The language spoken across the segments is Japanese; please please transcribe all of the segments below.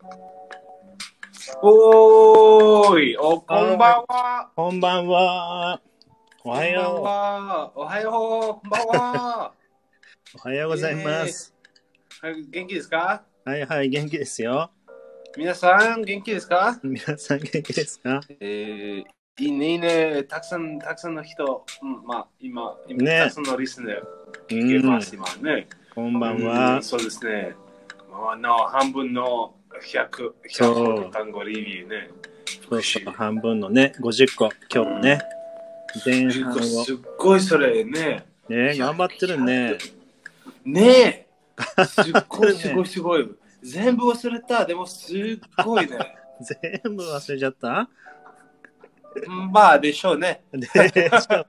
おーい、こんばんは。 こんばんは。おはよう。 おはよう。こんばんは。 おはようございます。 元気ですか？ はいはい、元気ですよ。 皆さん、元気ですか？ 皆さん元気ですか？ いいね。たくさんの人、今、 ね、 たくさんのリスナー聞けます、今ね。 こんばんは。 そうですね。半分の100単語レビューね。 そう、半分のね、50個、今日ね。前半を。 すっごいそれね。 ね、頑張ってるね。 ねえ。すっごい。全部忘れた。でもすっごいね。 全部忘れちゃった？ まあでしょうね。 でしょうね。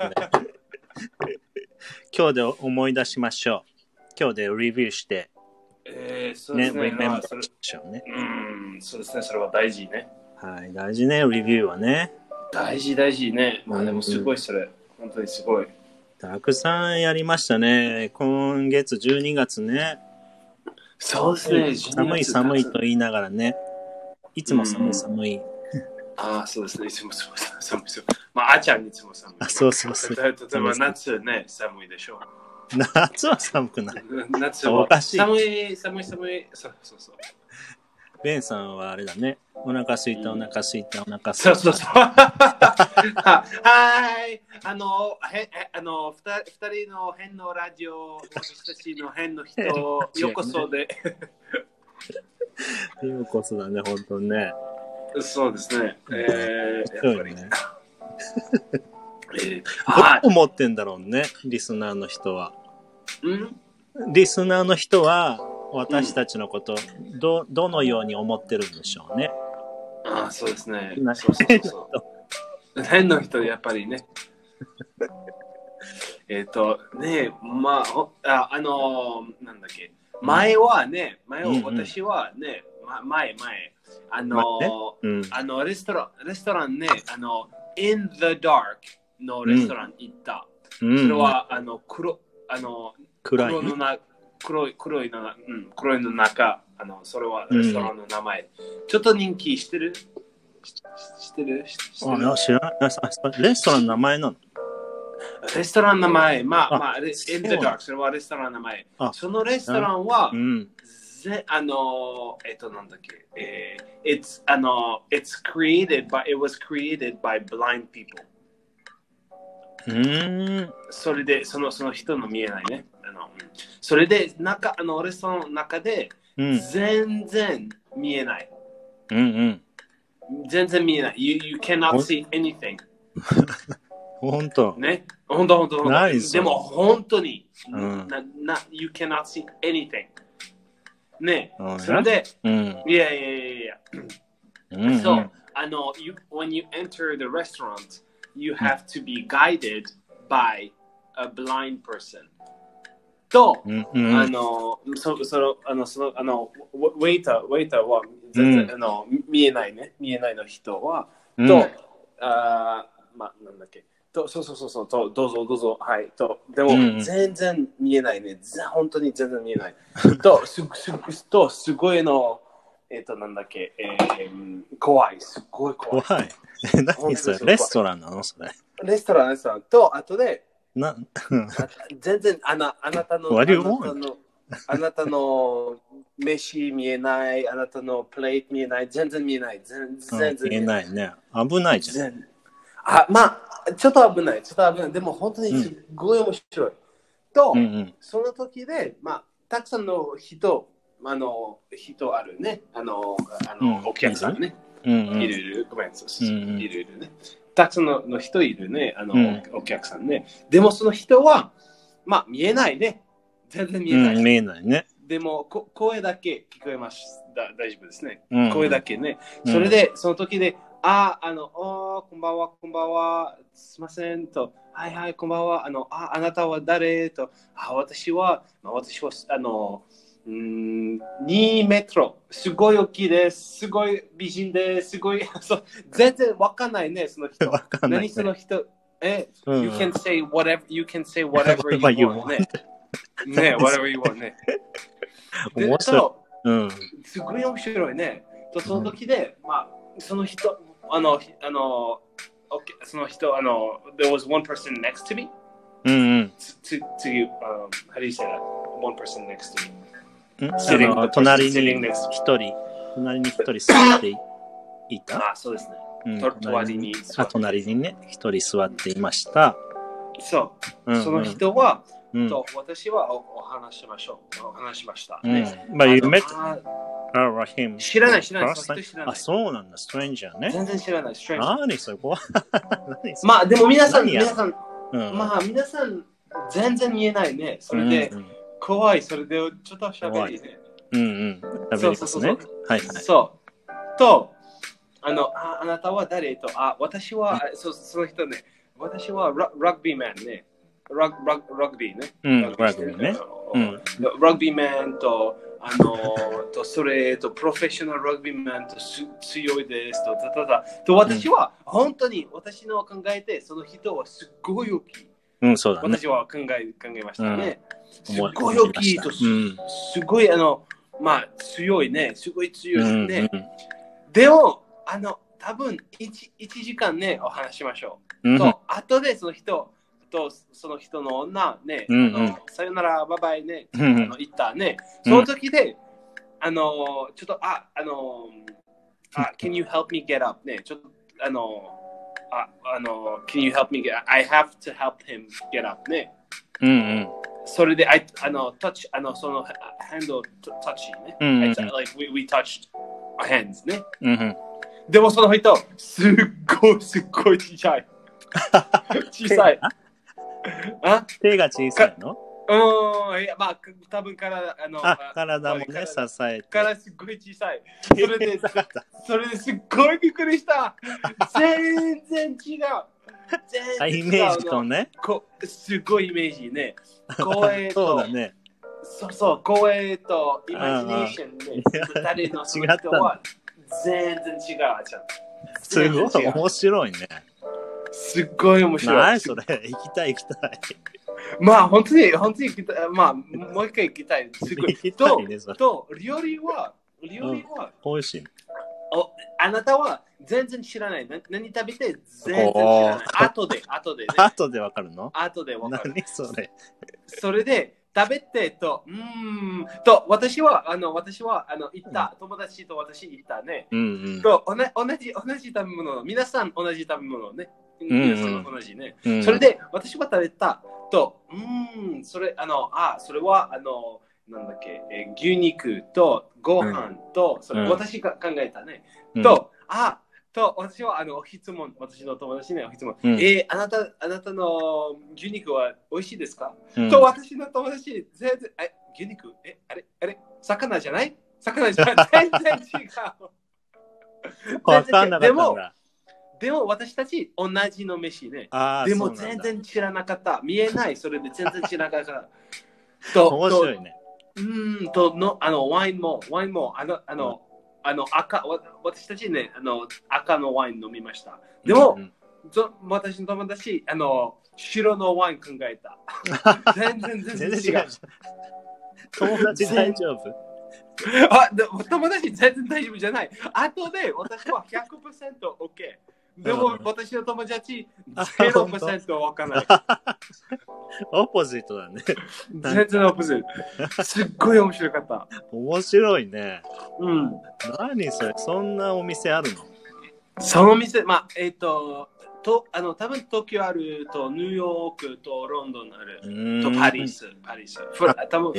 今日で思い出しましょう。今日でレビューして。 そうですね。 リメンバーしましょうね。 そうですね。それは大事ね。 はい、大事ね、レビューはね。 大事ね。まあでもすごいそれ。本当にすごい。 たくさんやりましたね。今月12月ね。 そうですね。 寒いと言いながらね。いつも寒い。 そうですね。いつも寒い。まあ、あちゃんいつも寒い。 そう。 例えば夏ね、寒いでしょう。 夏は寒くない。 夏はおかしい。 寒い。そう。 ベンさんはあれだね。お腹すいた。 そう。はい。二人の変のラジオ、私たちの変の人、ようこそで。 ようこそだね、本当にね。 そうですね。やっぱりね。 どう思ってんだろうね、リスナーの人は。リスナーの人は、私たちのこと、どのように思ってるんでしょうね。 そうですね。そう。変の人、やっぱりね。なんだっけ。前は私はね、前。レストランね、in the dark のレストラン行った。それは、黒いの中、それはレストランの名前。ちょっと人気してる？知ってる？ 知らない。レストランの名前なの？ レストランの名前、in the dark、それはレストランの名前。そのレストランは、なんだっけ、it was created by blind people。それで、その人の見えないね。それで、レストランの中で、全然見えない。全然見えない。You cannot see anything。 本当ね。本当。でも本当に、You cannot see anything。ね。それで、いや。So, when you enter the restaurant, you have to be guided by a blind person. と、ウェイターは全然、見えないの人は、なんだっけ。そう、どうぞ、はい。でも、全然見えないね。本当に全然見えない。すごいなんだっけ、怖い。すごい怖い。 何それ？レストランなのそれ？ レストランと、あとで、全然あなたの飯見えない、あなたのプレート見えない、全然見えない。全然見えないね。危ないじゃん。 ちょっと危ない。でも本当にすごい面白い。と、その時で、たくさんの人あるね。お客さんね。いる。ごめん、いるね。たくさんの人いるね。お客さんね。でもその人は、見えないね。全然見えない。 見えないね。 でも、声だけ聞こえます。大丈夫ですね。声だけね。それで、その時で、こんばんは。すいませんと。はい、こんばんは。あなたは誰と。私は、2メートル。すごい大きいです。すごい美人です。すごい、全然わかんないね、その人。何その人。You can say whatever you want ね。ね、whatever you want ね。すごい面白いね。 とその時で、まあ、その人、その人、there was one person next to me. うんうん。 To you, how do you say that? One person next to me. 隣に一人座っていた。 あ、そうですね。隣にね、一人座っていました。 そう。その人は、私はお話しました。 But you met him? 知らない。 あ、そうなんだ。ストレンジャーね。 全然知らない。 何それ怖い。 まあ、でも皆さん、全然言えないね。それで、怖い。それで、ちょっと喋りね。 そう。はい。 そう。と、あなたは誰と、私は、その人ね、私はラグビーマンね。ラグビーね。ラグビーマンと、それと、プロフェッショナルラグビーマンと強いですと、私は、本当に私の考えて、その人はすっごい大きい。 そうだね。 私は考えましたね。すっごい大きいと、すごい、まあ、強いね。すごい強いね。でも、多分1時間ね、お話しましょう。と、後でその人とその人の女ね、さよなら、バイバイね、言ったね。その時で、ちょっと、can you help me get up? ね、ちょっと、can you help me get up? I have to help him get up ね。それで、touch、その、hand を touch ね。like we touched our hands ね。でもその人、すっごい小さい。小さい。 手が小さいの？ いや、まあ、多分体もね、支えて。 体すっごい小さい。それですっごいびっくりした。全然違う。 イメージとね。 すごいイメージね。声と、 そうだね。 そう、声とイマジネーションね。誰の人は全然違う。 すごい面白いね。 すっごい面白い。 何それ？行きたい。 まあ、本当に行きたい。まあ、もう一回行きたい。すごい。と、料理は、 美味しい。 あなたは全然知らない。何食べて全然知らない。後で、ね。 後でわかるの？ 後でわかる。 何それ？ それで、食べてと、私は行った、友達と私行ったね。と、同じ食べ物、皆さん同じ食べ物ね。皆さん同じね。それで、私は食べたと、それは、なんだっけ、牛肉とご飯と、私が考えたね。と、私は私の友達ね、質問。あなたの牛肉は美味しいですか？と、私の友達、全然、牛肉あれ魚じゃない全然違う。 わかんなかったんだ。 でも私たち同じの飯ね。でも全然知らなかった。見えない。それで全然知らなかった。 面白いね。 ワインも、私たちね、赤のワイン飲みました。でも、私の友達、白のワイン考えた。全然違う。 友達大丈夫？ 友達全然大丈夫じゃない。後で私は 100% OK。でも私の友達 0% わかんない。 オポジットだね。 全然オポジット。すっごい面白かった。 面白いね。何それ？そんなお店あるの？ その店、まあ、多分東京あると、ニューヨークとロンドンあると、パリス。多分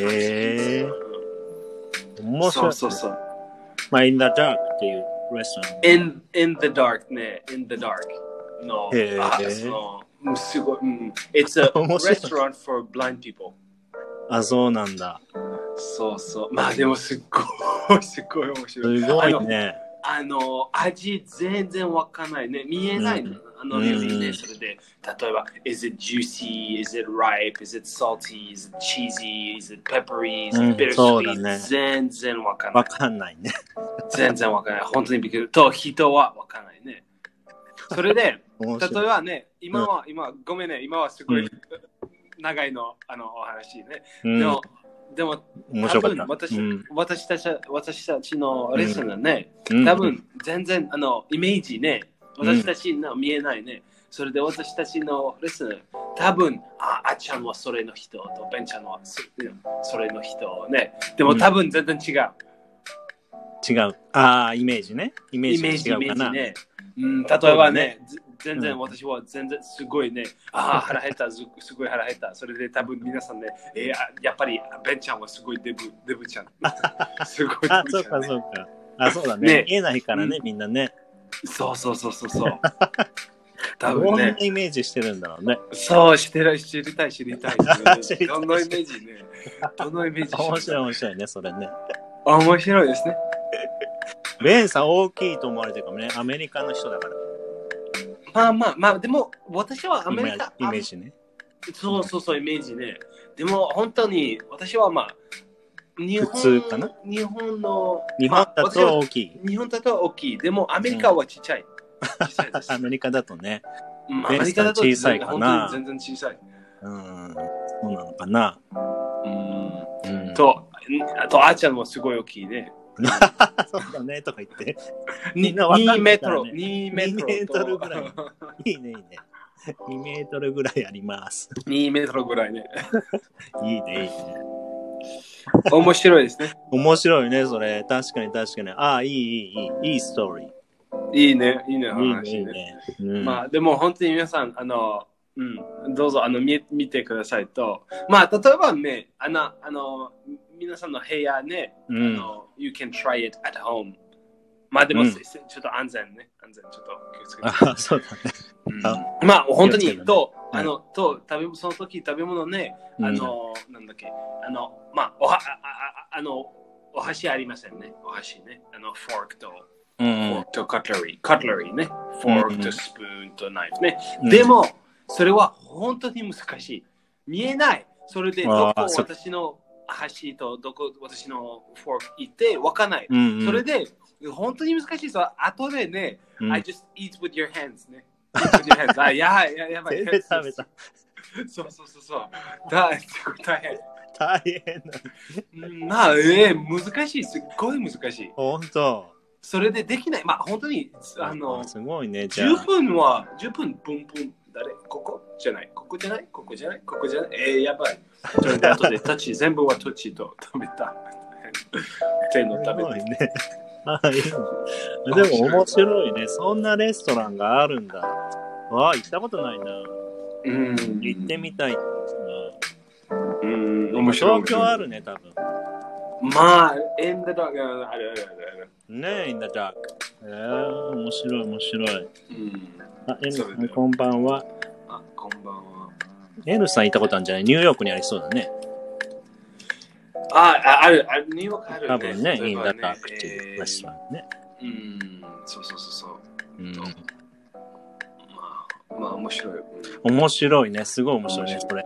面白い。 そう。 まあ、In the Dark っていうレストラン。 In the Dark ね。In the Dark の。すごい。It's a restaurant for blind people. そうなんだ。 そう。まあでもすっごい面白い。 すごいね。 味全然わかんないね。見えないの。料理ね。それで、例えば、is it juicy? Is it ripe? Is it salty? Is it cheesy? Is it peppery? Is it bittersweet? 全然わかんない。 わかんないね。 全然わかんない。本当にびっくり。と、人はわかんないね。それで、例えばね、今、ごめんね。今はすごい長いの、お話ね。 でも、 面白かった。 私たちのレッスンはね、多分全然イメージね、私たちの見えないね。それで私たちのレッスン、多分あっちゃんはそれの人と、ベンちゃんはそれの人ね。でも多分全然違う。 違う。イメージね。イメージ違うかな。 ね。例えばね、全然私は全然すごいね、腹減った、すごい腹減った。それで多分皆さんね、やっぱりベンちゃんはすごいデブちゃん。すごいデブちゃん、ね。 そうかそうか。そうだね。見えないからね、みんなね。 そう。多分ね。 どんなイメージしてるんだろうね。 そう、知りたい。どのイメージね。 面白いね、それね。 面白いですね。 ベンさん大きいと思われてるかもね。アメリカの人だから。 まあ、でも私はアメリカ。 イメージね。 そう、イメージね。でも本当に私は普通かな。 日本だと大きい。 日本だと大きい。でもアメリカはちっちゃい。 アメリカだとね。 アメリカだと小さいかな。 全然小さい。 そうなのかな。 あとあーちゃんもすごい大きいね。 そうだねとか言って。 2メートル。 2メートルぐらい。いいね。2メートルぐらいあります。 2メートルぐらいね。 いいね。 面白いですね。 面白いね、それ。確かに。いいストーリー。 いいね。 いいね。 でも本当に皆さん、どうぞ見てくださいと。例えばね、皆さんの部屋ね、you can try it at home。でも、ちょっと安全ちょっと気をつけて。 そうだね。 本当に、その時食べ物ね、なんだっけ、お箸ありませんね。お箸ね。フォークとカトラリーね。フォークとスプーンとナイフね。でも、それは本当に難しい。見えない。それで、どこ私の箸とどこ私のフォーク行ってわかんない。それで、本当に難しい。後でね、I just eat with your hands ね。やばい。 食べた。 そう。大変。 大変難しい。すっごい難しい。 本当。 それでできない。本当に、 すごいね。 10分、ブン。ここじゃない。やばい。それで後で全部はタッチと食べた。手の食べた。 ね。でも面白いね。そんなレストランがあるんだ。行ったことないな。行ってみたい。 面白い。 東京あるね、多分。 in the dark ある。 ね、in the dark。面白い。N さん、こんばんは。 こんばんは。 N さん行ったことあるんじゃない？ニューヨークにありそうだね。 ある。ニューヨークあるね。 多分ね、in the dark っていうレストランね。 そう。面白い。 面白いね。すごい面白いね、これ。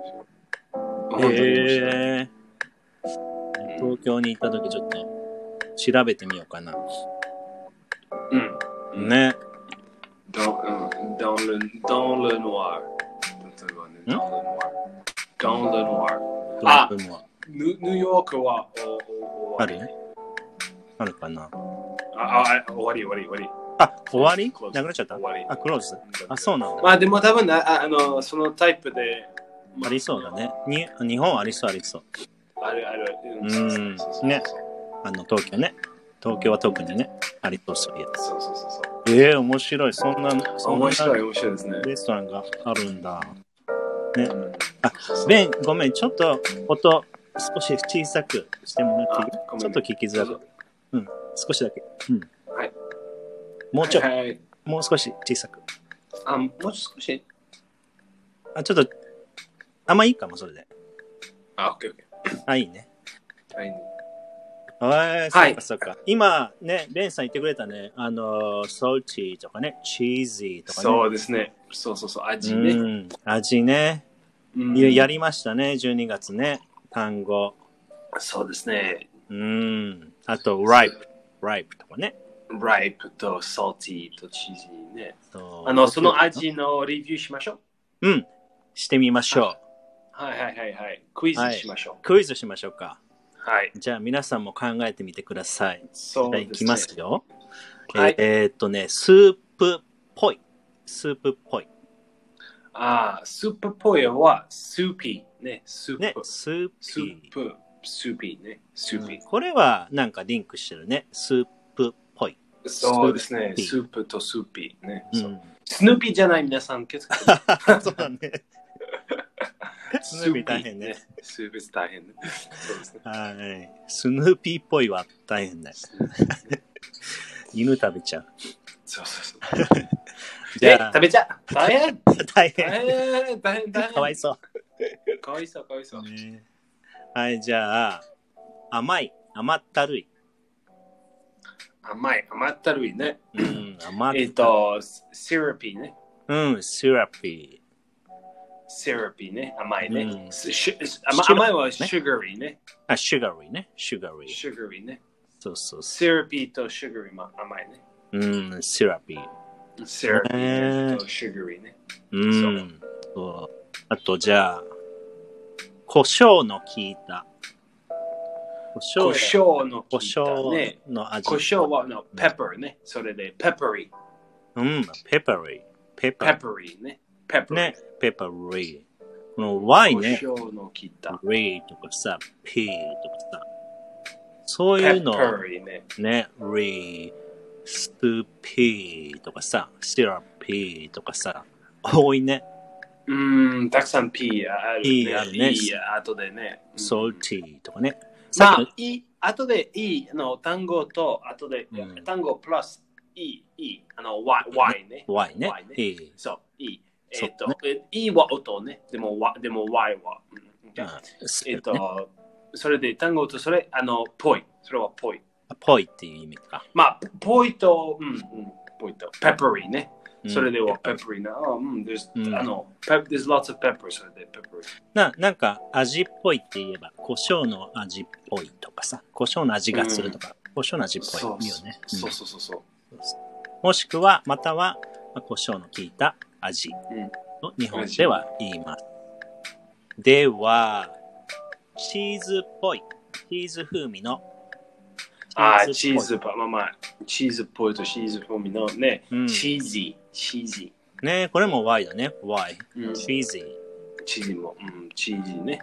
東京に行った時ちょっと調べてみようかな。ね。 Dans le noir. Dans le noir. ニューヨークはあるね。あるかな。 終わり。 終わり？なくなっちゃった？クローズ？そうなんだ。 でも多分そのタイプでありそうだね。日本ありそう。 ある。 ね。東京ね。東京は特にね、ありそうや。 そう。 面白い。そんな面白いですね。 レストランがあるんだ。ね。ベン、ごめん、ちょっと音少し小さくしてもらっていい？ちょっと聞きづらく。少しだけ。 はい。 もう少し小さく。 もう少し？ ちょっと、いいかも、それで。 OK。 いいね。そうか。今ね、ベンさん言ってくれたね。ソルチーとかね、チーズーとかね。 そうですね。そう。味ね。 味ね。やりましたね、12月ね。単語。 そうですね。 あと、ripe とかね。 ripe と salty とチーズね。その味のレビューしましょう。 してみましょう。 はい。クイズしましょう。 クイズしましょうか。 はい。 じゃあ皆さんも考えてみてください。 そうですね。 いきますよ。 はい。 スープっぽい。スープっぽい。 スープっぽいはスーピーね。スープ。 ね、スースープ。スーピーね。スーピー。 これはなんかリンクしてるね。スープっぽい。 そうですね。スープとスーピーね。スヌーピーじゃない皆さん気をつけて。 そうだね。スヌーピー大変ね。 スヌーピー大変ね。そうですね。 はい。スヌーピーっぽいは大変だよ。犬食べちゃう。 そう。じゃあ、食べちゃう。大変。 大変。かわいそう。 かわいそう。 ね、はい、じゃあ、甘ったるい。 甘ったるいね。 甘ったるい。 シラピーね。 シラピー。 シラピーね。甘いね。甘いはシュガリーね。 シュガリーね。シュガリーね。そう。 シラピーとシュガリーも甘いね。 シラピー。 シラピーとシュガリーね。 そう。あと、じゃあ、胡椒の効いた。 胡椒の効いたね。 の味。 胡椒はペッパーね。それでペッパリー。 ペッパリー。 ペッパリーね。ペッパリー。 ね、ペッパリー。この Y ね。 胡椒の効いた。 リーとかさ、P とかさ。そういうの。 ペッパリーね。 ね、リー、スーピーとかさ、シラピーとかさ、多いね。 たくさん P あるね。 P あるね。 後でね。 ソルティーとかね。 後で E の単語と、後で単語プラス Y ね。 Y ね。 そう、E。E は音ね。でも Y は。それで単語とそれ、ぽい。それはぽい。 ぽいっていう意味か。 ぽいと、ぽいと、ペッパリーね。それではペッパリーな。there's lots of pepper, それでペッパリー。なんか味っぽいって言えば、胡椒の味っぽいとかさ、胡椒の味がするとか、胡椒の味っぽいよね。 そう。 もしくは、または、胡椒の効いた味と日本では言います。では、チーズっぽい。チーズ風味の。 チーズっぽいとチーズ風味のね、チーズ。 ね、これも Y だね。Y。チーズ。 チーズも、チーズね。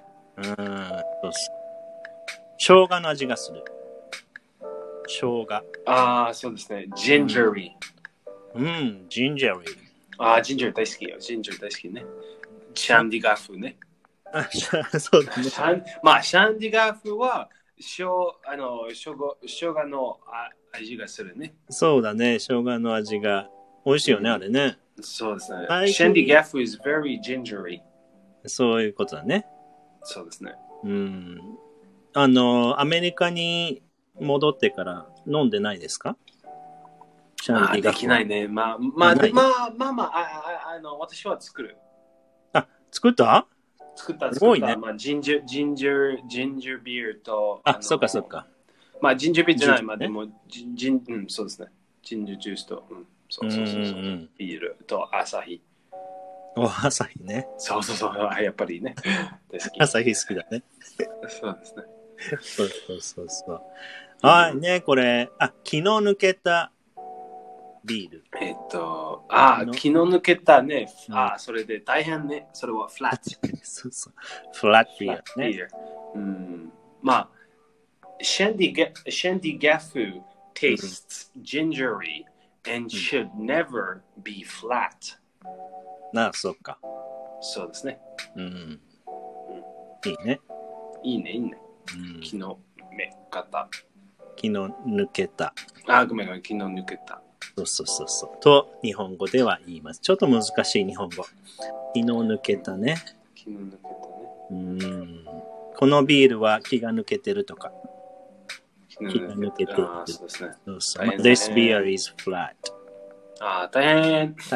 生姜の味がする。生姜。 そうですね。ジンジャリー。ジンジャリー。ジンジャー大好きよ。ジンジャー大好きね。シャンディガフね。 そうだね。 シャンディガフは、生姜の味がするね。 そうだね。生姜の味が美味しいよね、あれね。 そうですね。シャンディガフ is very gingery. そういうことだね。 そうですね。 アメリカに戻ってから飲んでないですか？ シャンディガフ。できないね。私は作る。 作った？ すごいね。ジンジャービールと。 そっか。 ジンジャービールじゃない。でも、そうですね。ジンジャージュースと。そう。ビールとアサヒ。 アサヒね。 そう。やっぱりね。 アサヒ好きだね。 そうですね。 そう。はいね、これ、気の抜けたビール。 気の抜けたね。それで大変ね。それはフラット。 そう。フラットビールね。 シャンディガフ tastes gingery and should never be flat. そうか。 そうですね。 いいね。 いいね。気の抜けた。 ごめん、気の抜けた。 そう。と、日本語では言います。ちょっと難しい日本語。気の抜けたね。このビールは気が抜けてるとか。気が抜けてる。 そうですね。 This beer is flat. 大変。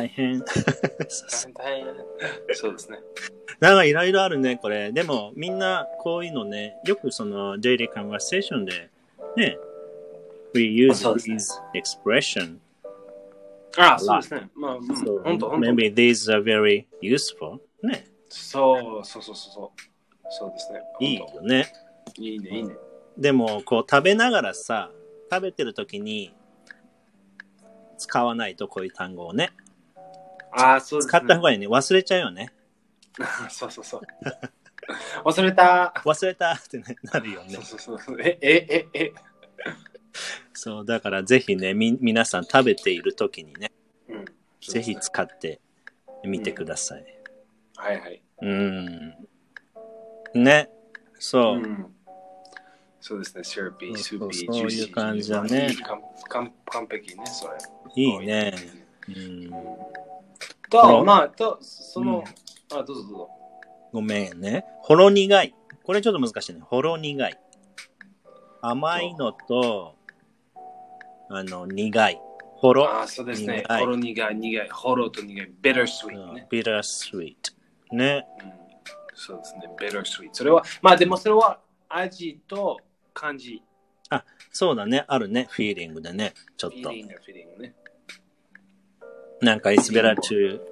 そうですね。 なんかいろいろあるね、これ。でも、みんなこういうのね、よくその、デイリーカンバーセーションで、ね、we use this expression. そうですね。本当。 Maybe these are very useful. ね。 そうですね。 いいよね。 いいね。 でも、こう食べながらさ、食べてる時に使わないとこういう単語をね。 そうですね。 使った方がいいね。忘れちゃうよね。 そうそうそう。忘れたってなるよね。 そう。 そう、だからぜひね、皆さん食べている時にね、ぜひ使ってみてください。 はいはい。 ね、そう。 そうですね、シューピー、スーピー、そういう感じだね。 完璧ね、それ。 いいね。 どうぞ。 ごめんね。ほろ苦い。これちょっと難しいね。ほろ苦い。甘いのと、苦い。ほろ。 そうですね。ほろ苦い。ほろと苦い。ビタースイートね。 ビタースイート。ね。 そうですね。ビタースイート。それは、でもそれは味と感じ。 そうだね。あるね。フィーリングでね。ちょっと。 フィーリングね。 なんか、it's better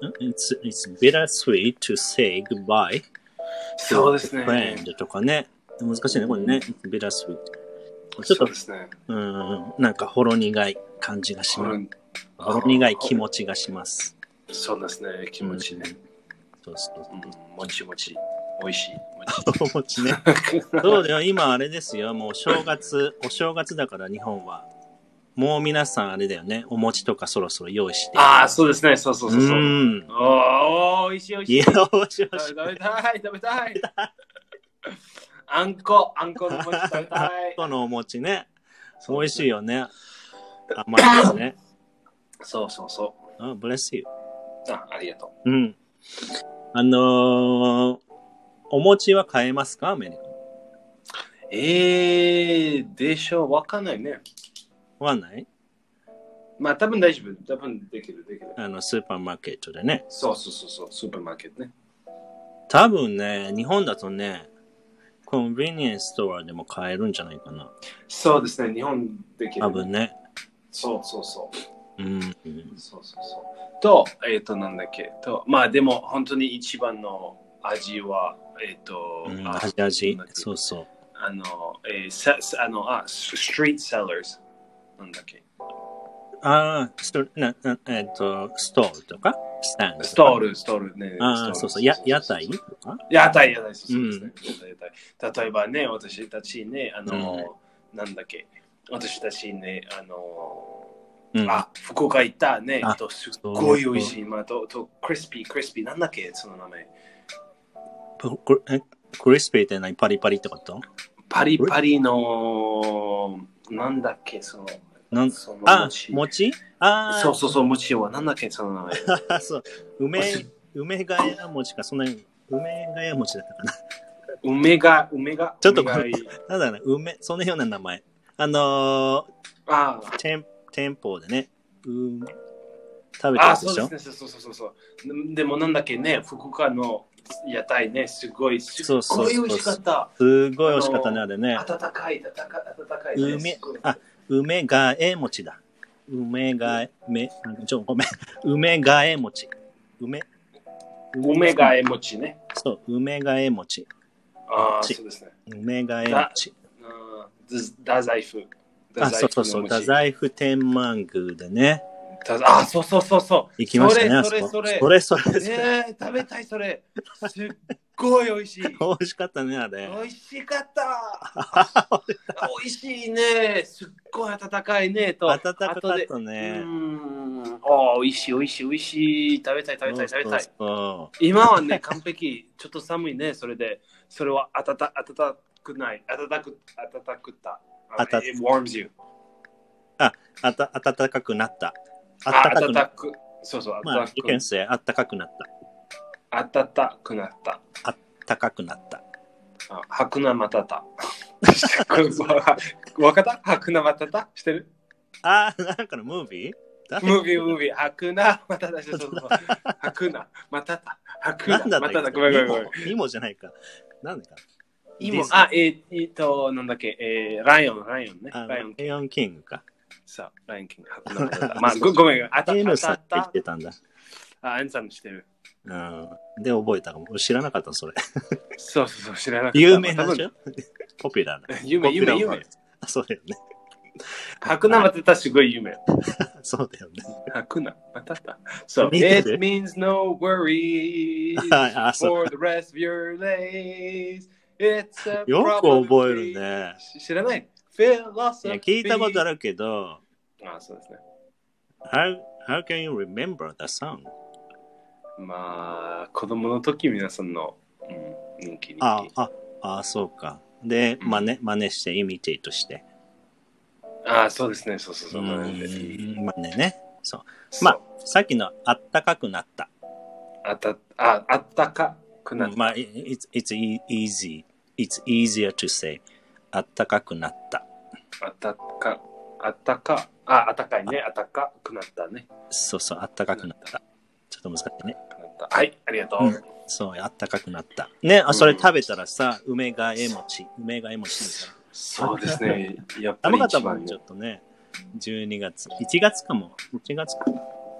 sweet to say goodbye そうですね。 friend とかね。難しいね、これね。bitter sweet。 ちょっと、 なんか、ほろ苦い感じがします。ほろ苦い気持ちがします。 そうですね、気持ちね。 そう。 もち。美味しい。 お餅ね。そうだよ、今あれですよ。もうお正月だから日本は。もう皆さんあれだよね。お餅とかそろそろ用意して。 そうですね。そう。美味しい。 いや、美味しい。 食べたい。あんこの餅食べたい。 あんこのお餅ね。美味しいよね。甘いですね。 そう。 bless you。 ありがとう。 お餅は買えますかアメリカ？ でしょう。わかんないね。 わかんない？ 多分大丈夫。多分できる。 スーパーマーケットでね。 そう。スーパーマーケットね。 多分ね、日本だとね、コンビニエンスストアでも買えるんじゃないかな。 そうですね。日本できる。 多分ね。 そう。 そう。 と、なんだっけ。でも本当に一番の味は、 味。そう。 ストリートセラーズ。なんだっけ。 ストールとかスタンド。 ストールね。 そう。屋台とか屋台。そうですね。例えばね、私たちね、なんだっけ。私たちね、福岡行ったね、すっごい美味しい。と、クリスピー、なんだっけ、その名前。 クリスピーって何？パリパリってこと？ パリパリの、なんだっけ、その餅？ そう、餅は、なんだっけ、その名前。 そう、梅ヶ谷餅か、そんなに、梅ヶ谷餅だったかな。 梅が。 ちょっとなんだろうな、そのような名前。店舗でね、食べてるでしょ？ そうですね、そう。でもなんだっけね、福岡の屋台ね、すごい美味しかった。 すごい美味しかったね、あれね。 温かい。 梅ヶ枝餅だ。梅ヶ枝餅。 梅ヶ枝餅ね。 そう、梅ヶ枝餅。 そうですね。 梅ヶ枝餅。 太宰府。 そう。太宰府天満宮でね。 そう。 行きましたね。 それ。食べたい、それ。すっごい美味しい。 美味しかったね、あれ。 美味しかった。美味しいね。すっごい温かいね。 温かかったね。 美味しい。食べたい。 そう今はね、完璧。ちょっと寒いね。それは温くない。温くた。It warms you. 暖かくなった。 そう。 you can say 暖かくなった。 暖かくなった。 高くなった。 はくなまたた。わかった？はくなまたたしてる？ なんかのムービー？ ムービー。はくなまたた。そう。はくなまたた。はくなまたた。ごめん。 イモじゃないか。なんだか。 イモ、なんだっけ、ライオンね。 ライオンキングか。 そう、ライオンキング。ごめん。 N さんって言ってたんだ。 N さんしてる。 で、覚えたかも。知らなかった、それ。 そう、知らなかった。 有名なんでしょ？ ポピュラーな。 夢。 そうだよね。 ハクナまたたすごい夢。 そうだよね。 ハクナまたた。So, it means no worries for the rest of your days. It's a よく覚えるね。 知らない？Philosophy。 聞いたことあるけど、 そうですね。 How can you remember the song? まあ、子供の時皆さんの、人気。 そうか。で、真似して、イミテイトして。 そうですね。そう。 真似ね。そう。まあ、さっきのあったかくなった。 あったかくなった。 まあ、it's easier to say あったかくなった。あったかいね。あったかくなったね。 そう、あったかくなった。ちょっと難しいね。 はい、ありがとう。 そう、あったかくなった。ね、それ食べたらさ、梅がえ餅そうですね。やっぱり一番ちょっとね、12月、1月かも。1月か。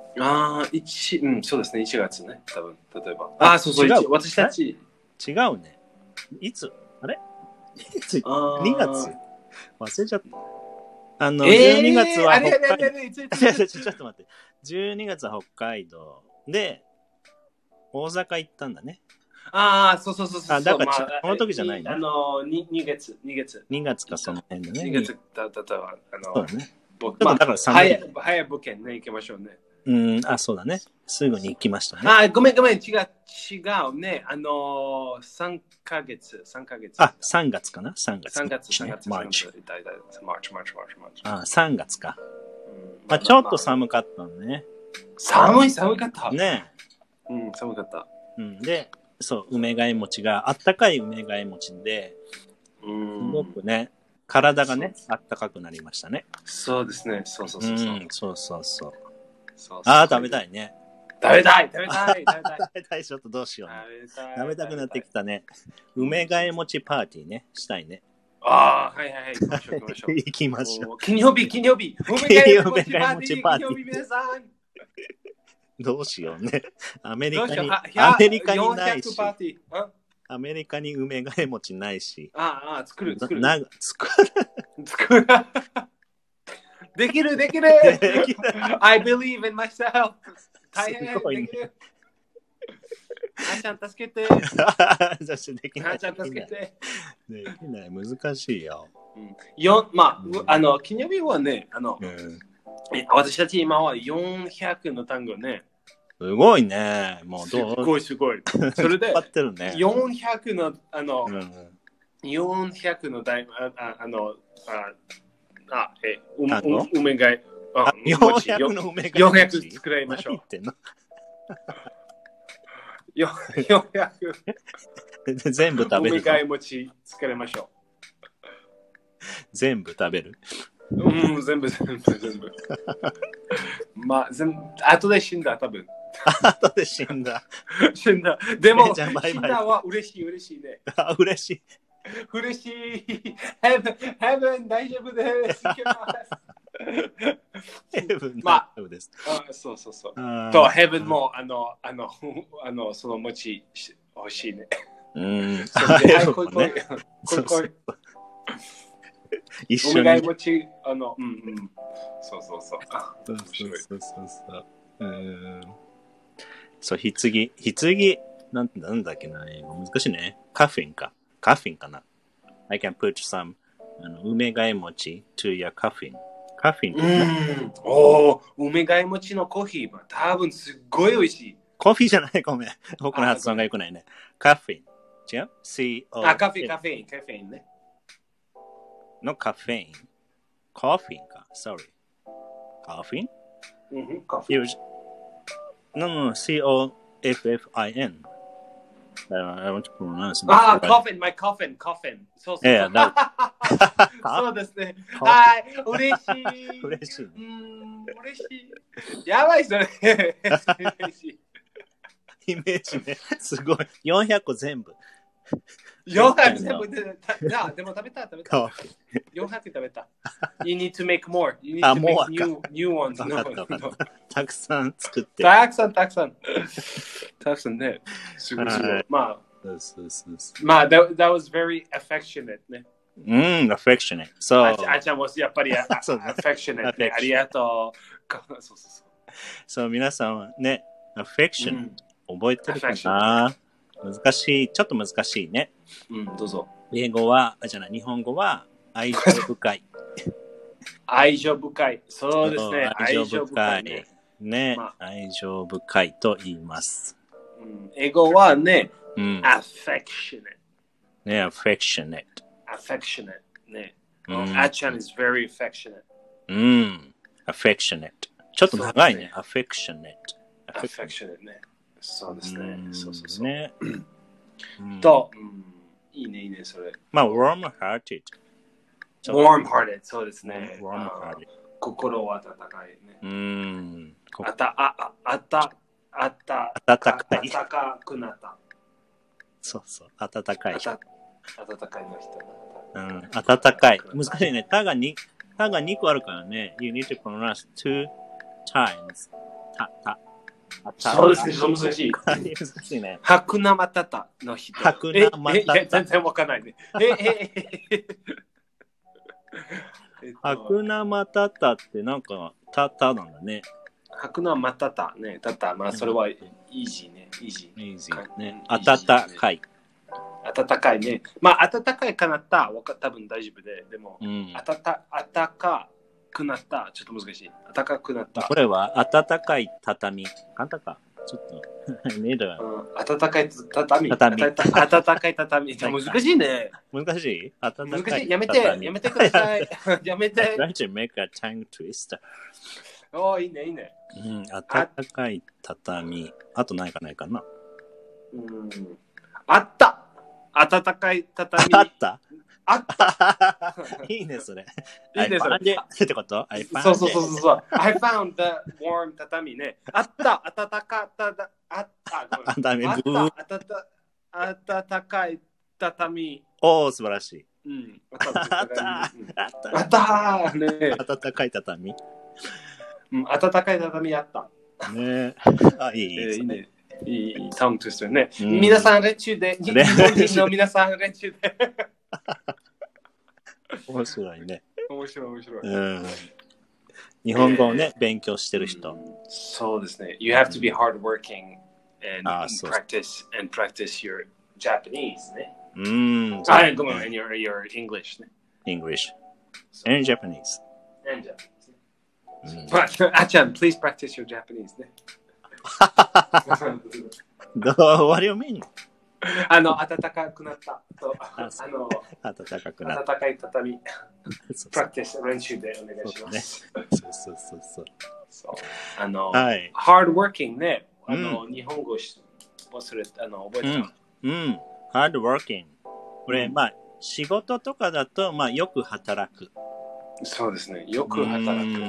そうですね、1月ね、多分、例えば。そう、私たち。 違うね。いつあれ ?2 月忘れちゃった。12月は北海道。ちょっと待って。12月は北海道で、大阪行ったんだね。 そう。 だから、この時じゃないね。 2月。 2月か、その辺だね。 2月だったら、 そうだね。 だから早物件ね、行きましょうね。 そうだね。すぐに行きましたね。 ごめん、違うね。3ヶ月。 3月かな ?3 月。 マーチ。 3月か。ちょっと寒かったね。 寒かった。 ね。 寒かった。 で、そう、梅がえ餅が、あったかい梅がえ餅で、すごくね、体がね、あったかくなりましたね。 そうですね。そう。 そう。食べたいね。 食べたい。 ちょっとどうしよう。食べたくなってきたね。梅がえ餅パーティーね、したいね。 はい。 行きましょう。 金曜日。梅がえ餅パーティー。皆さん。 どうしようね。アメリカにないし。アメリカに梅がえ餅ないし。 作る。できる。I believe in myself. 大変できる。あちゃん助けて。 できない。できない。難しいよ。 金曜日はね、私たち今は400の単語ね。 すごいね。もうどうすごい。それで、400の、400の梅がえ、 400の梅がえ餅。 400作りましょう。400 全部食べる。 梅がえ餅作りましょう。 全部食べる。 全部。後で死んだ、多分。 後で死んだ。 でも、死んだは嬉しいね。 嬉しい。 Heaven 大丈夫です。 Heaven 大丈夫です。 そう。と、Heaven も、その餅欲しいね。 一緒に。 そう。 そう、棺、なんだっけな、難しいね。カフィンかな。I can put some 梅がえ餅 to your coffin。カフィン。 梅がえ餅のコーヒー、多分すっごい美味しい。 コーヒーじゃない、ごめん。僕の発音が良くないね。カフィン。違う ?C-O。 カフェインね。 のカフェイン。コーヒーか。Sorry。カフィン？No, C-O-F-F-I-N. I want to pronounce it. Coffin, my coffin. そう。そうですね。はい、嬉しい。やばい、それ。 イメージね。すごい。400個全部。 400全部でも食べた。400食べた。You need to make more. You need to make new ones. たくさん作って。 たくさんね。すごい。まあ、that was very affectionate ね。 affectionate. そう。 あちゃんもやっぱりaffectionate ね。ありがとう。 そう、皆さんはね、affection、覚えてるかな？難しい。ちょっと難しいね。 どうぞ。 日本語は愛情深い。 愛情深い。そうですね。 愛情深い。ね、愛情深いと言います。 英語はね、affectionate。 ね、affectionate。 ね。あちゃん is very affectionate。 affectionate。ちょっと長いね。affectionate ね。そうですね。そう。 ね。 と、いいね、それ。 warm-hearted。 warm-hearted、そうですね。 warm-hearted。 心は温かいね。温かくなった。 そう、温かい。 温かいの人。 温かい。難しいね。たが2個あるからね。You need to pronounce 2 times. そうですね、難しい。 難しいね。 ハクナマタタの人。 ハクナマタタ。 全然わかんないね。 ハクナマタタってなんかタタなんだね。 ハクナマタタね。まあそれはイージーね。イージーね。温かい。 温かいね。まあ温かいかなった多分大丈夫でも、温かくなったちょっと難しい。温かくなった。 これは温かい畳。簡単か。ちょっとねえだ。 温かい畳。温かい畳。難しいね。 難しい？ 難しい。やめてください。やめて。 Try to make a tongue twister. いいね。 温かい畳。あとないかな。 あった。温かい畳。 あったいいね、それ。 いいね、それ。 ってこと？ そう。I found the warm 畳ね。あった。温かい畳。 おー、素晴らしい。 あったね。 温かい畳。 温かい畳あった。 ねいいね。いいタウントゥストね。皆さん練習で。日本人の皆さん練習で。 面白いね。 面白い。 日本語をね、勉強してる人。 そうですね。You have to be hardworking and practice your Japanese ね。ごめん、and your English ね。 English. And Japanese. Ahちゃん、please practice your Japanese ね。 What do you mean? 暖かくなったと。 暖かくなった。 暖かい畳。プラクティス練習でお願いします。そう。hard working ね。日本語覚えた。 hard working。これ、仕事とかだと、よく働く。 そうですね。よく働く。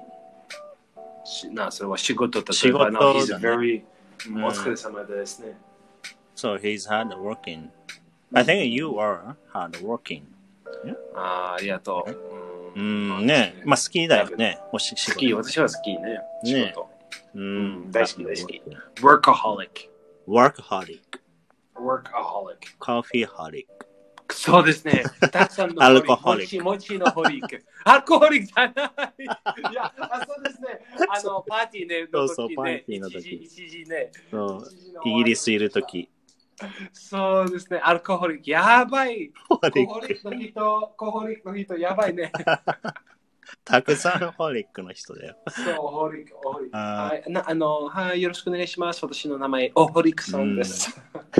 それは仕事とか。仕事だね。 お疲れ様ですね。 So he's hard working. I think you are hard working. ありがとう。 ね。好きだよね。 好き、私は好きね。仕事。大好き。workaholic。 coffeeholic。 そうですね。たくさんのアルコホリック。 もちのホリック。アルコホリックじゃない。いや、そうですね。パーティーね。 そう、パーティーの時。 一時ね。 イギリスいる時。 そうですね。アルコホリック。やばい。コホリックの人、やばいね。 たくさんホリックの人だよ。 そう、ホリック。はい、よろしくお願いします。私の名前、ホリックさんです。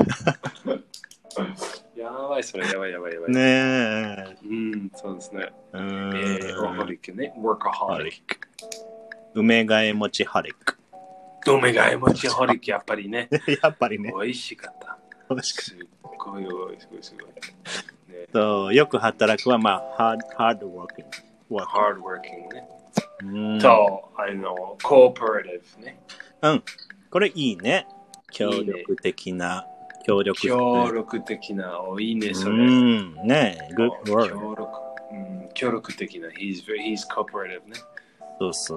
やばい、それやばい。 ねえ。 そうですね。ホリックね。workaholic。 梅替え餅ホリック。 梅替え餅ホリック、やっぱりね。美味しかった。すごい。 そう、よく働くは、hard working。 hard working ね。と、cooperative ね。 これいいね。協力的な。 いいね、それ。 ね、good word。 協力的な。He's cooperative ね。 そう。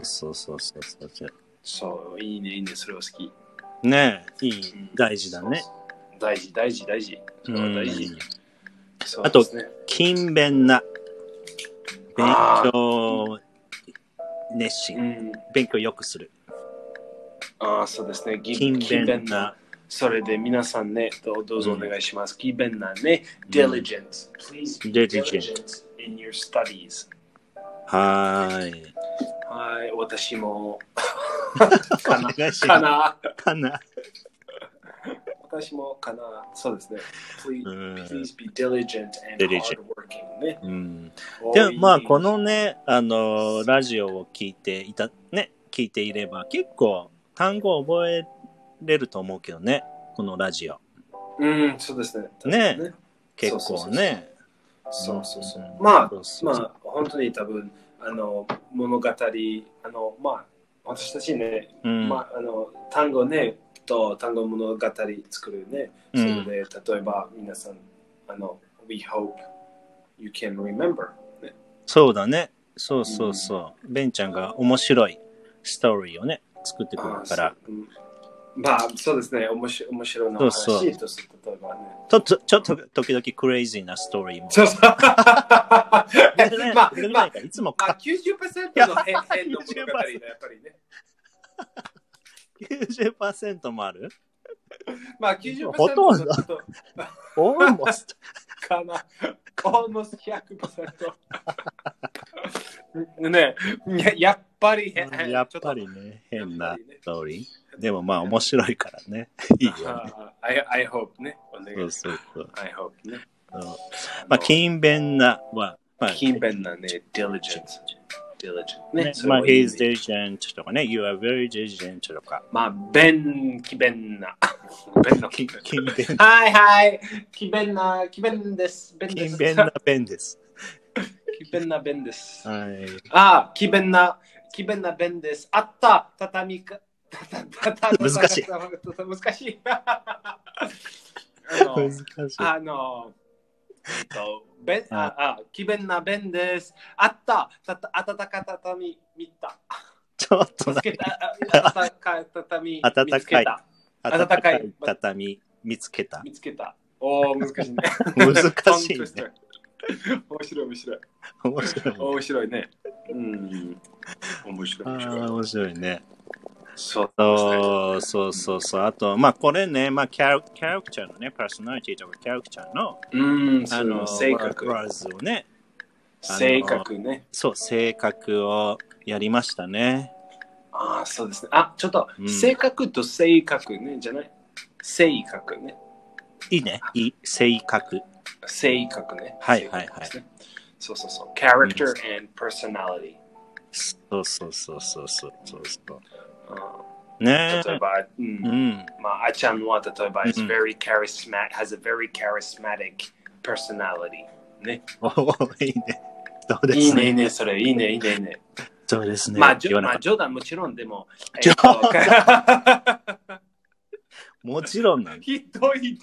そう、いいね、それは好き。 ね、大事だね。 大事。 あと、 勤勉な、勉強熱心、勉強よくする。 そうですね。 勤勉な。 それで皆さんね、どうぞお願いします。勤勉なね、diligence. Please be diligent in your studies. はい。 はい、私もかな。 私もかな。そうですね。Please be diligent and hardworking ね。 でもまあこのね、ラジオを聞いていれば結構単語を覚えれると思うけどね、このラジオ。 そうですね。 ね、結構ね。 そう。まあ本当に多分物語私たちね、単語ねと単語物語作るね。それで例えば皆さんWe hope you can remember、ね。 そうだね。そう。ベンちゃんが面白いストーリーをね作ってくるから。 そうですね。面白いの話とすると例えばね。 ちょっと時々クレイジーなストーリーも。そう。いつもか。 90% の変の物語だやっぱりね。 90% もある ？90% ほとんど。almost かな。almost 100%。ね、やっぱりね、 変なストーリー。でもまあ面白いからね。いいよね。 I hope ね。 そう。 I hope ね。 勤勉なは、 勤勉なね、diligent ね。 he's diligent とかね、you are very diligent とか。 勤勉な。 勤勉。 はい。勤勉です。 勤勉な弁です。 勤勉な弁です。 はい。 勤勉な弁です。あった、畳か。 難しい。 難しい。勤勉な弁です。あった、暖かい畳見た。 ちょっと暖かい畳見つけた。 暖かい畳見つけた。 難しいね。 難しいね。 面白いね。面白いね。そう。 あと、これね、キャラクターのね、パーソナリティとかキャラクターの、 性格ワーズをね。 性格ね。 そう、性格をやりましたね。 そうですね。ちょっと、性格と性格ね、じゃない。性格ね。 いいね。性格。 性格ね。 はい。 そう。character and personality。 そう。ね例えば、あちゃんは例えば、has a very charismatic personality。ね。 いいね。そうですね。 いいね、それ。いいね。 そうですね。 冗談もちろんでも。 もちろんなんだ。 ひどい。 ね。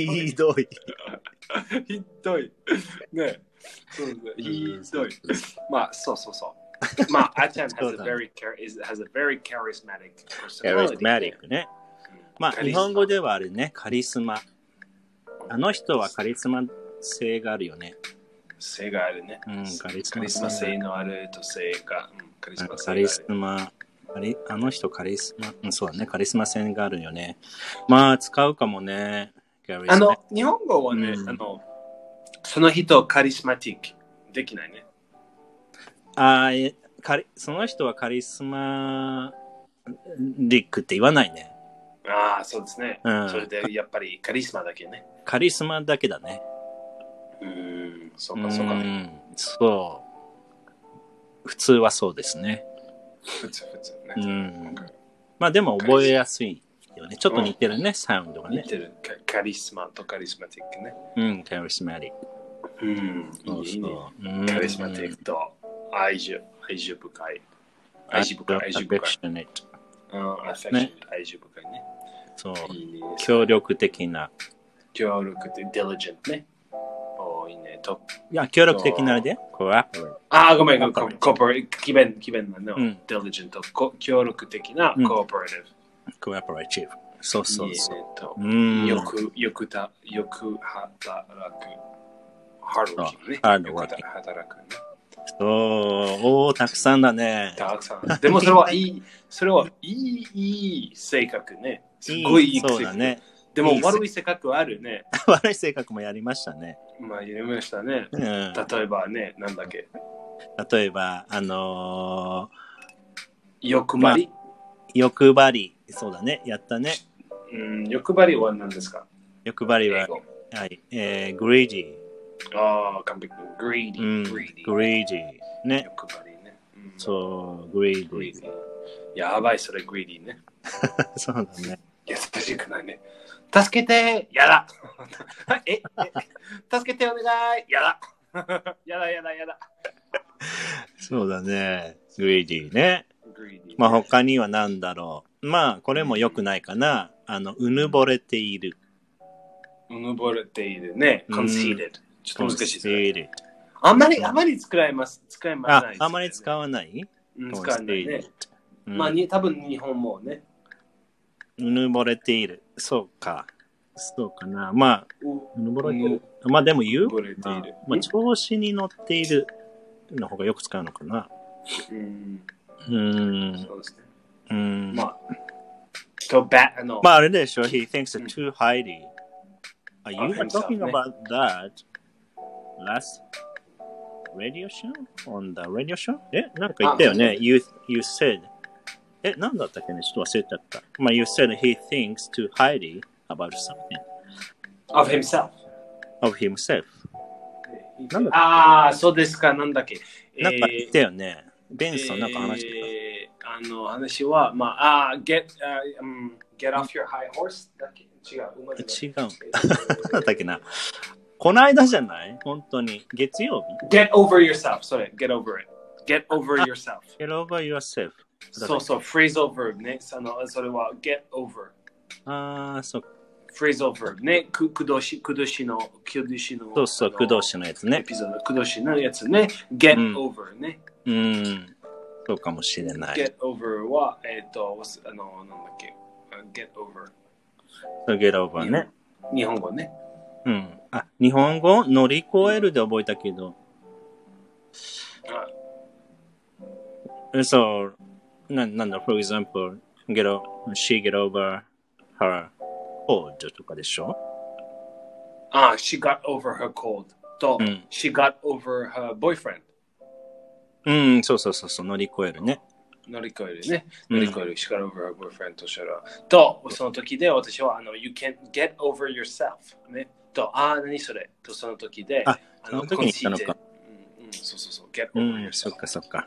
ひどい。そう。あちゃん has a very charismatic personality。 charismatic ね。日本語ではあれね、カリスマ。あの人はカリスマ性があるよね。 性があるね。カリスマ性のあると性が。カリスマ。 あの人カリスマ。そうだね、カリスマ性があるよね。使うかもね。 日本語はね、その人カリスマティックできないね。 その人はカリスマリックって言わないね。 そうですね。それでやっぱりカリスマだけね。 カリスマだけだね。 そうか。 そう。普通はそうですね。 普通ね。 でも覚えやすいよね。ちょっと似てるね、サウンドがね。 似てる。カリスマとカリスマティックね。 カリスマティック。 いいね。カリスマティックと愛情深い。愛情深い。愛情深いね。 そう。協力的な。 diligent ね。いいね。 いや、協力的なで。 ごめん。気分なの。diligent と協力的な cooperative。そう。 よく働く。 ハードワーキングね。 ハードワーキング。 働くね。 おー、たくさんだね。 たくさん。でもそれはいい、いい性格ね。すごいいい性格。 そうだね。 でも悪い性格はあるね。 悪い性格もやりましたね。 まあ、やりましたね。例えばね、なんだっけ。 例えば、 欲張り、 欲張り。そうだね。やったね。 欲張りは何ですか？ 欲張りは、はい、greedy。 ああ、完璧。greedy。 ね。 欲張りね。 そう、greedy。 やばい、それ greedy ね。 そうだね。 優しくないね。助けて、やだ。助けてお願い、やだ。やだ。 そうだね。greedy ね。まあ他には何だろう。まあこれも良くないかな。うぬぼれている。 うぬぼれているね。conceited。ちょっと難しいですね。 conceited。 あまり使えます。 あまり使わない？ 使わないね。まあ多分日本もね。 うぬぼれている。そうかな。まあ、うぬぼれている。まあでも言う？まあ調子に乗っているの方がよく使うのかな。 そうですね。まああれでしょ。He thinks it's too highly. Are you talking about that last radio show? On the radio show? なんか言ったよね。You said. なんだったっけね、ちょっと忘れちゃった。まあ、you said he thinks too highly about something. Of himself. Of himself. そうですか、なんだっけ。 なんか言ったよね。ベンソンなんか話してた。話は、まあ、get off your high horse だっけ？違う。 なんだっけな。この間じゃない本当に。月曜日 ?Get over yourself. それ、get over it. Get over yourself. Get over yourself. そう、phrasal verb ね。それは get over。 そう。 phrasal verb ね。くどしの。 そう、くどしのやつね。 エピソード、くどしのやつね。get over ね。 そうかもしれない。 get over は、なんだっけ。get over。 get over ね。 日本語ね。 日本語乗り越えるで覚えたけど。そう。なんだ、for example, she get over her cold とかでしょ she got over her cold と、she got over her boyfriend そう、乗り越えるね。 乗り越える、she got over her boyfriend としたら、と、その時で私は、you can get over yourself ね。と、何それと、その時で、 その時に言ったのか。 そう、get over yourself そっか。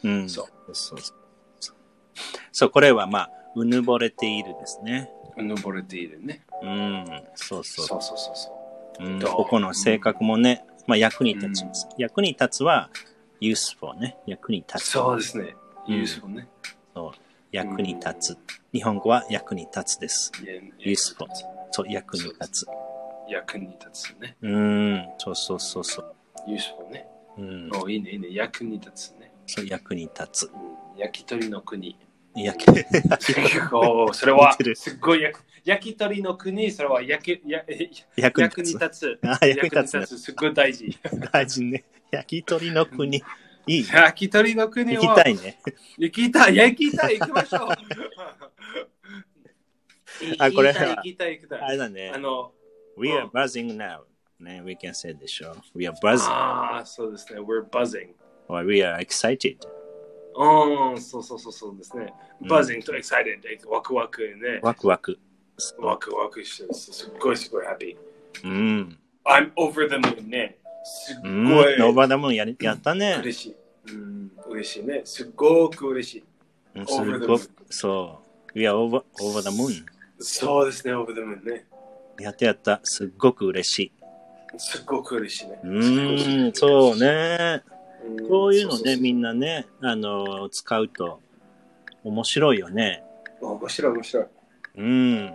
そう、これはまあ、うぬぼれているですね。 うぬぼれているね。 そう。 ここの性格もね、まあ役に立ちます。役に立つは、useful ね。役に立つ。 そうですね。useful ね。 そう。役に立つ。日本語は役に立つです。useful。そう、役に立つ。 役に立つね。 そう。 useful ね。いいね。役に立つね。 そう、役に立つ。 焼き鳥の国。それはすごい焼き鳥の国、それは役に立つ。役に立つ。すごい大事。 大事ね。焼き鳥の国。いい。 焼き鳥の国は。 行きたいね。 行きたい。行きましょう。 これは、 行きたい。 あれだね。We are buzzing now. ね、we can say でしょ。We are buzzing. そうですね。We're buzzing. Or we are excited. そうですね。buzzing と excited ワクワクね。 ワクワクしてすっごい happy。 I'm over the moon ね。すっごい。 over the moon やったね。 嬉しい。嬉しいね。すっごく嬉しい。 そう。We are over the moon。 そうですね。over the moon ね。 やった。すっごく嬉しい。 すっごく嬉しいね。 そうね。こういうのね、みんなね、使うと面白いよね。 面白い。 I'm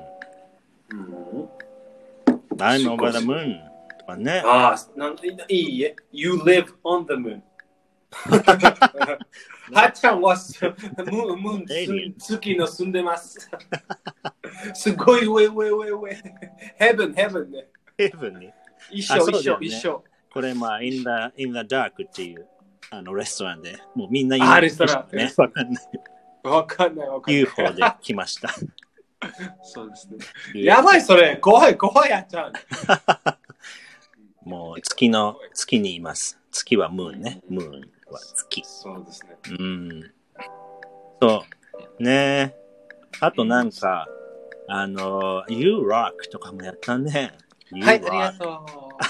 over the moon とかね。 いいえ。You live on the moon。はっちゃんはムーン月の住んでます。すごい上。Heaven ね。 Heaven ね。 一緒。 これまあ、in the dark っていうレストランで、もうみんなレストランね。わかんない。 わかんない。 UFO で来ました。 そうですね。やばい、それ。怖い、あっちゃん。 もう月にいます。月はムーンね。ムーンは月。 そうですね。 そう。ね。あとなんか、You Rock とかもやったね。 はい、ありがと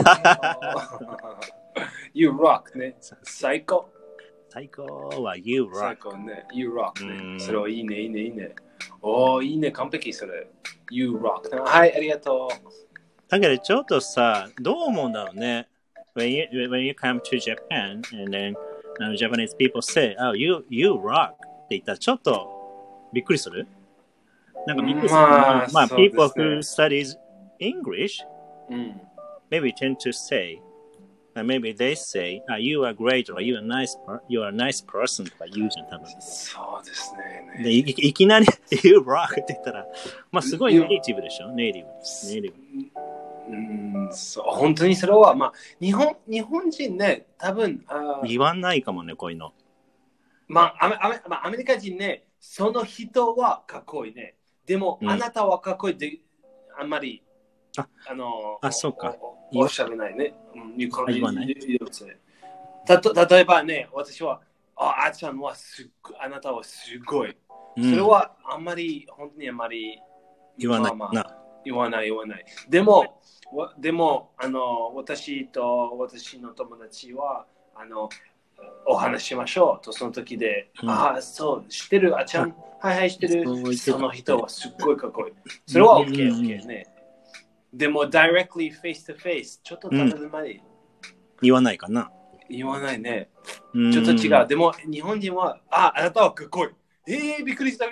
う。You Rock ね。最高は You Rock。 最高ね。You Rock ね。それはいいね。おー、いいね。完璧それ。You Rock。はい、ありがとう。 だけどちょっとさ、どう思うんだろうね。When you come to Japan and then Japanese people say, oh, you rock って言ったらちょっとびっくりする？なんかびっくりする。まあ、people who studies English maybe tend to say, maybe they say, you are great or you are a nice person とか言うじゃん、多分。 そうですね。 で、いきなり you rock って言ったら、まあすごいネイティブでしょ、ネイティブ。 そう本当にそれは、まあ、日本人ね、多分言わないかもね、こういうの。 まあ、アメリカ人ね、その人はかっこいいね。でも、あなたはかっこいいってあんまり、 そうか。 おっしゃらないね。 言わない。 例えばね、私は、あっちゃんはあなたはすごい。それは本当にあんまり言わない。 言わない。でも、私と私の友達は、お話しましょうと、その時で、そう、知ってる、あちゃん、はい、知ってる、その人はすっごいかっこいい。それは OK ね。でも、directly face to face、ちょっと食べるまで。 言わないかな。 言わないね。ちょっと違う。でも、日本人は、あなたはかっこいい。びっくりした。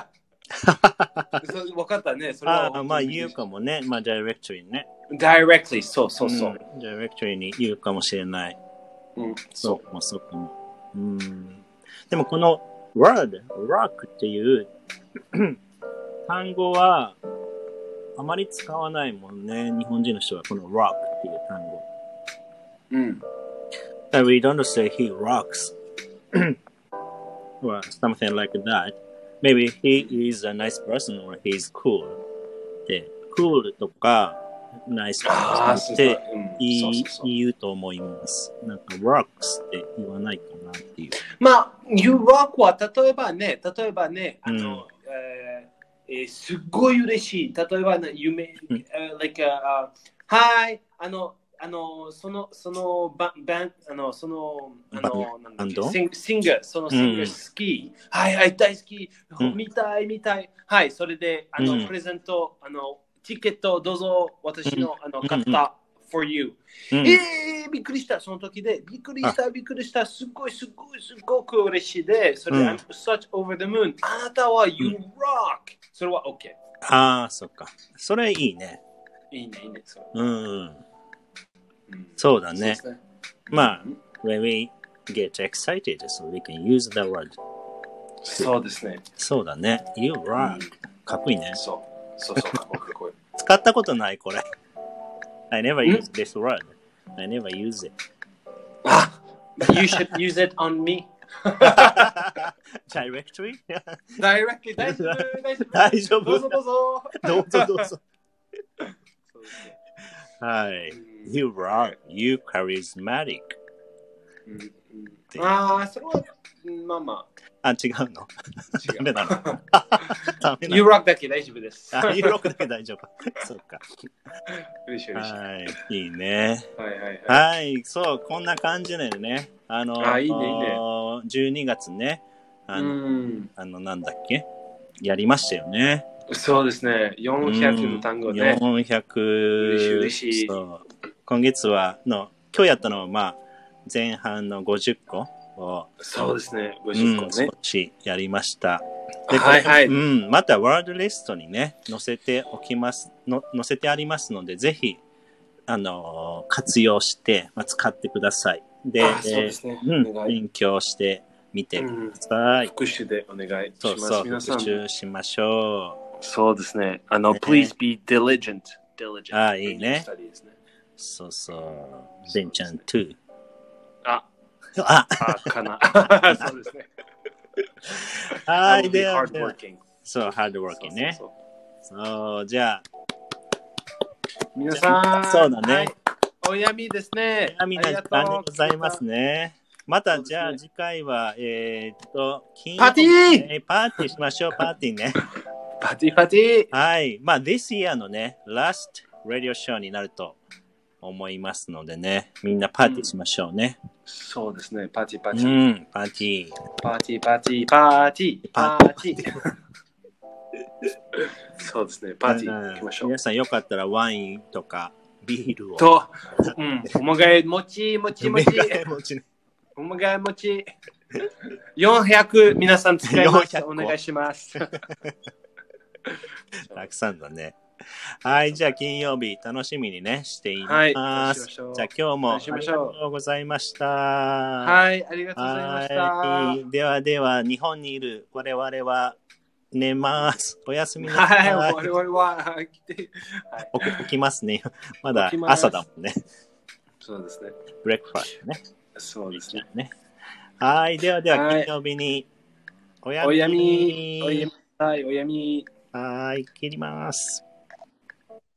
分かったね。それはまあ言うかもね。まあ directly ね。 directly、そう。 directly に言うかもしれない。そうかも。でもこの word, rock っていう単語はあまり使わないもんね。日本人の人はこの rock っていう単語。We don't say he rocks or something like that.Maybe he is a nice person or he's cool. で、cool とか nice person って言うと思います。なんか rocks って言わないかなっていう。 まあ、you rock は例えばね、すっごい嬉しい。例えばね、like hi そのバンドシンガー、そのシンガー好き。はい、大好き。見たい。はい、それで、プレゼント、チケットどうぞ、私の、買った、for you。びっくりした、その時で。びっくりした。すっごく嬉しいで、それで、I'm such over the moon。あなたは you rock。それは OK。 そっか。それいいね。 いいね。 そうだね。まあ、when we get excited, so we can use the word. そうですね。 そうだね。You rock. かっこいいね。 そう、かっこいい。 使ったことない、これ。I never use this word. I never use it. You should use it on me. Directly? Directly. 大丈夫。 どうぞ。 はい。You rock. You charismatic. それは、まあ。 違うの？ダメなの？ You rock だけ大丈夫です。 You rock だけ大丈夫。そうか。 嬉しい。 はい。いいね。 はい。 そう、こんな感じでね。 いいね。 12月ね。なんだっけ？やりましたよね。 そうですね。400の単語ね。 400。 嬉しい。 今月は今日やったのはまあ前半の50個をそうですね。50個ね。 少しやりました。 はい。 またワードリストにね載せてありますのでぜひ活用して使ってください。で、 そうですね。 勉強してみてください。 復習でお願いします。 そう復習しましょう。そうですね。Please be diligent. いいね。 そうそう。ベンちゃん2。 あ、かな。そうですね。 はい、では、そう、ハードワーキングね。そう、じゃあ。 皆さん、 そうだね。 はい、おやみですね。 おやみな時間でございますね。また、じゃあ次回は、 金曜日、パーティーパーティーしましょう、パーティーね。 パーティー。 はい。まあ、this year のね、last radio show になると思いますのでね、みんなパーティーしましょうね。 そうですね、パーティー。 うん、パーティー。 そうですね、パーティー行きましょう。 皆さんよかったらワインとかビールを。 と、おまがい餅。おまがい餅。400皆さん使います。お願いします。 たくさんだね。はい、じゃあ金曜日楽しみにねしています。じゃあ今日もありがとうございました。 はい、ありがとうございました。 では日本にいる我々は寝ます。おやすみなさい。 はい、我々は来て、 起きますね。まだ朝だもんね。 そうですね。 ブレックファーストね。 そうですね。 はい、では金曜日におやみ。 はい、おやみ。 はい、切ります。